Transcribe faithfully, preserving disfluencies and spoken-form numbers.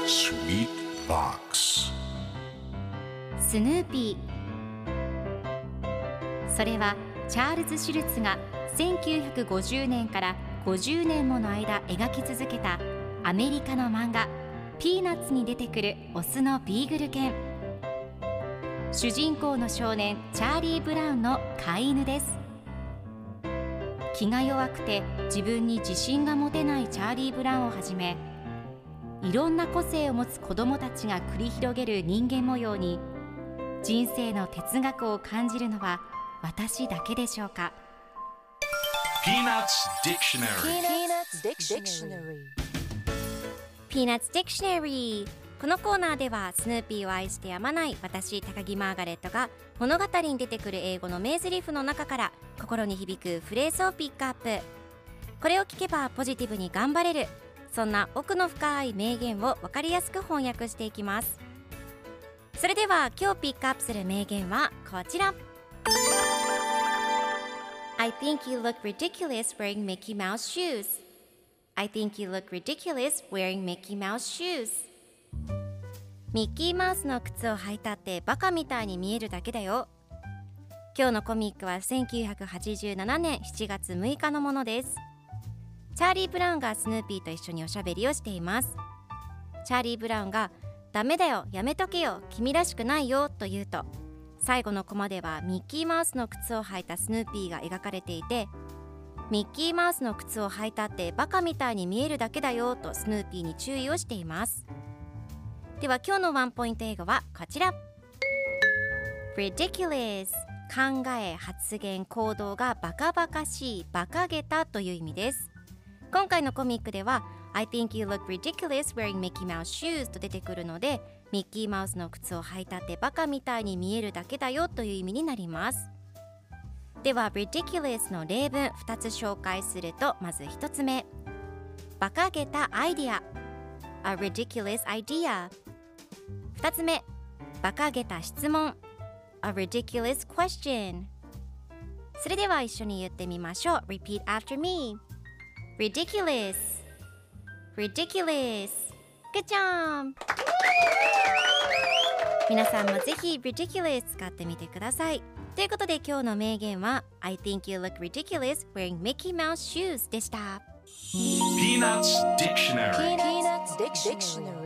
Sweet Box スヌーピー。それはチャールズ・シュルツがせんきゅうひゃくごじゅうねんからごじゅうねんもの間描き続けたアメリカの漫画ピーナッツに出てくるオスのビーグル犬。主人公の少年チャーリー・ブラウンの飼い犬です。気が弱くて自分に自信が持てないチャーリー・ブラウンをはじめ、いろんな個性を持つ子どもたちが繰り広げる人間模様に人生の哲学を感じるのは私だけでしょうか。 Peanuts Dictionary Peanuts Dictionary。 このコーナーではスヌーピーを愛してやまない私高木マーガレットが物語に出てくる英語の名台詞の中から心に響くフレーズをピックアップ。これを聞けばポジティブに頑張れる、そんな奥の深い名言を分かりやすく翻訳していきます。それでは今日ピックアップする名言はこちら。 I think you look ridiculous wearing Mickey Mouse shoes. I think you look ridiculous wearing Mickey Mouse shoes. ミッキーマウスの靴を履いたってバカみたいに見えるだけだよ。今日のコミックはせんきゅうひゃくはちじゅうななねんしちがつむいかのものです。チャーリー・ブラウンがスヌーピーと一緒におしゃべりをしています。チャーリー・ブラウンがダメだよ、やめとけよ、君らしくないよと言うと、最後のコマではミッキーマウスの靴を履いたスヌーピーが描かれていて、ミッキーマウスの靴を履いたってバカみたいに見えるだけだよとスヌーピーに注意をしています。では今日のワンポイント英語はこちら。 Ridiculous。 考え、発言、行動がバカバカしい、馬鹿げたという意味です。今回のコミックでは I think you look ridiculous wearing Mickey Mouse shoes と出てくるので、ミッキーマウスの靴を履いたってバカみたいに見えるだけだよという意味になります。では ridiculous の例文ふたつ紹介すると、まずひとつめ、馬鹿げたアイディア A ridiculous idea。 ふたつめ、馬鹿げた質問 A ridiculous question。 それでは一緒に言ってみましょう。 Repeat after me。 Ridiculous Ridiculous Good job。 皆さんもぜひ Ridiculous 使ってみてください。ということで今日の名言は I think you look ridiculous wearing Mickey Mouse shoes でした。 Peanuts Dictionary Peanuts Dictionary